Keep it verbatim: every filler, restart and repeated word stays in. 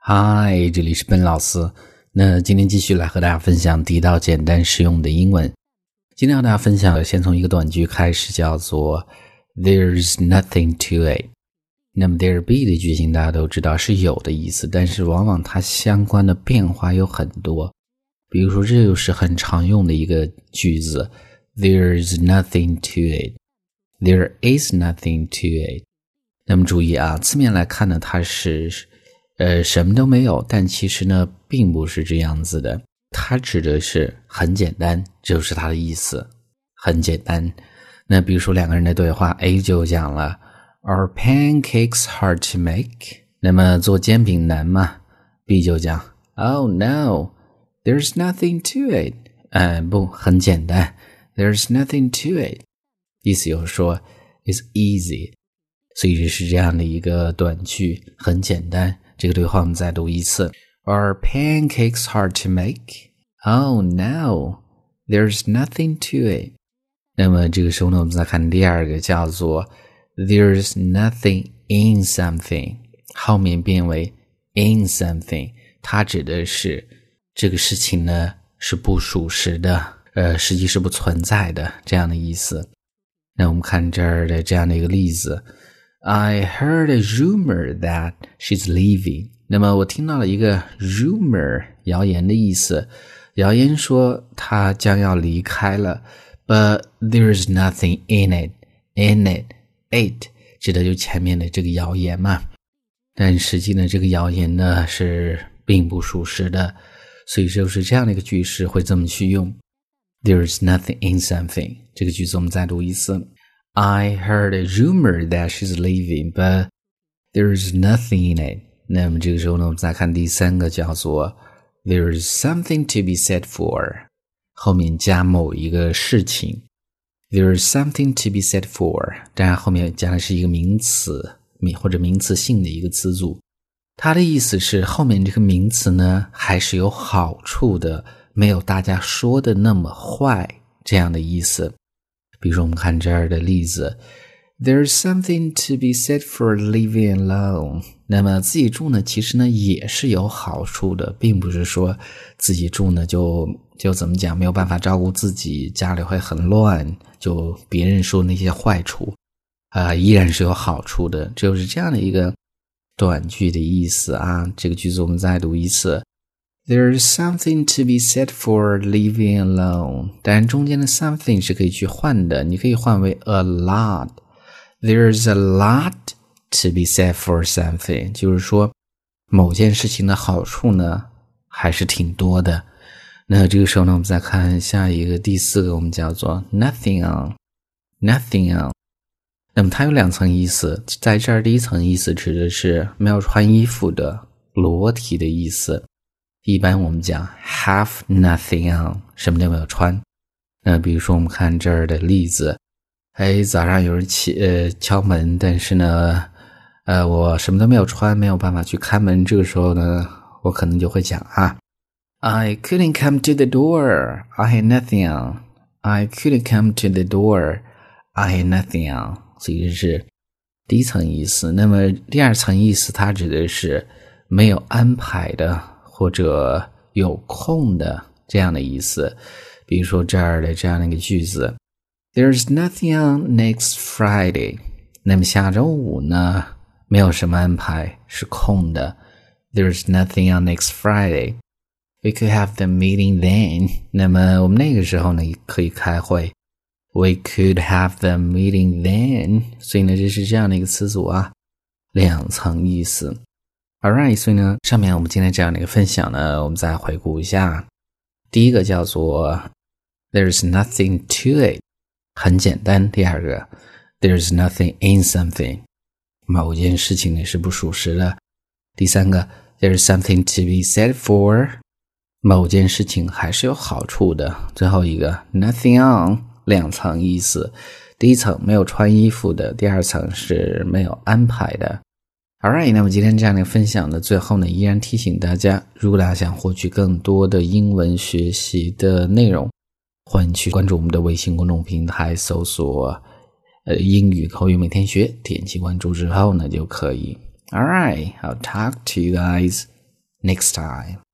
嗨，这里是笨老师。那今天继续来和大家分享地道简单实用的英文。今天和大家分享先从一个短句开始，叫做 There's nothing to it。 那么 there be 的句型大家都知道是有的意思，但是往往它相关的变化有很多。比如说这就是很常用的一个句子， There's nothing to it， There is nothing to it。 那么注意啊，字面来看呢，它是呃，什么都没有，但其实呢并不是这样子的，它指的是很简单，这就是它的意思，很简单。那比如说两个人的对话， A 就讲了 Are pancakes hard to make？ 那么做煎饼难吗？ B 就讲 Oh no, there's nothing to it。 呃，不，很简单， There's nothing to it， 意思就是说 It's easy。 所以这是这样的一个短句，很简单。这个对话我们再读一次。 Are pancakes hard to make? Oh no, there's nothing to it。 那么这个时候呢，我们再看第二个，叫做 There's nothing in something， 后面变为 in something， 它指的是这个事情呢是不属实的，呃，实际是不存在的这样的意思。那我们看这儿的这样的一个例子， I heard a rumor that she's leaving。 那么我听到了一个 rumor， 谣言的意思，谣言说她将要离开了， but there's nothing in it in it it 指的就前面的这个谣言嘛，但实际呢这个谣言呢是并不属实的，所以就是这样的一个句式会这么去用， There's nothing in something。 这个句子我们再读一次， I heard a rumor that she's leaving, but there's nothing in it。 那么这个时候呢，我们再看第三个，叫做 There's something to be said for， 后面加某一个事情， There's something to be said for， 当然后面加的是一个名词或者名词性的一个词组，它的意思是后面这个名词呢还是有好处的，没有大家说的那么坏这样的意思。比如说我们看这儿的例子， There's something to be said for living alone。 那么自己住呢其实呢也是有好处的，并不是说自己住呢就就怎么讲没有办法照顾自己，家里会很乱，就别人说那些坏处啊、呃，依然是有好处的，就是这样的一个短句的意思啊。这个句子我们再读一次， There's something to be said for living alone。 当然中间的 something 是可以去换的，你可以换为 a lot， There's a lot to be said for something， 就是说某件事情的好处呢还是挺多的。那这个时候呢，我们再看下一个第四个，我们叫做 nothing on nothing on。 那么它有两层意思，在这儿第一层意思指的是没有穿衣服的裸体的意思，一般我们讲 have nothing on， 什么都没有穿。那比如说我们看这儿的例子，哎，早上有人起呃敲门，但是呢呃我什么都没有穿，没有办法去开门，这个时候呢我可能就会讲啊I couldn't come to the door, I had nothing on. I couldn't come to the door, I had nothing on。 所以这是第一层意思。那么第二层意思它指的是没有安排的或者有空的这样的意思。比如说这儿的这样的一个句子， There's nothing on next Friday。 那么下周五呢没有什么安排，是空的， There's nothing on next Friday。We could have the meeting then。 那么我们那个时候呢可以开会， We could have the meeting then。 所以呢这是这样的一个词组啊，两层意思。 Alright， 所以呢上面我们今天这样的一个分享呢，我们再回顾一下。第一个叫做 There's nothing to it， 很简单。第二个 There's nothing in something， 某件事情呢是不属实的。第三个 There's something to be said for，某件事情还是有好处的。最后一个 nothing on， 两层意思，第一层没有穿衣服的，第二层是没有安排的。 Alright， 那么今天这样的分享的最后呢，依然提醒大家，如果大家想获取更多的英文学习的内容，欢迎去关注我们的微信公众平台，搜索呃英语口语每天学，点击关注之后呢就可以。Alright, I'll talk to you guys next time.